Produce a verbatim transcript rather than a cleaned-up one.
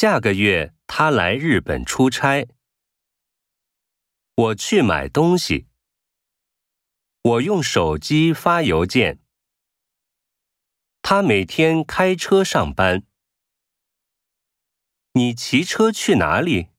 下个月他来日本出差。我去买东西。我用手机发邮件。他每天开车上班。你骑车去哪里？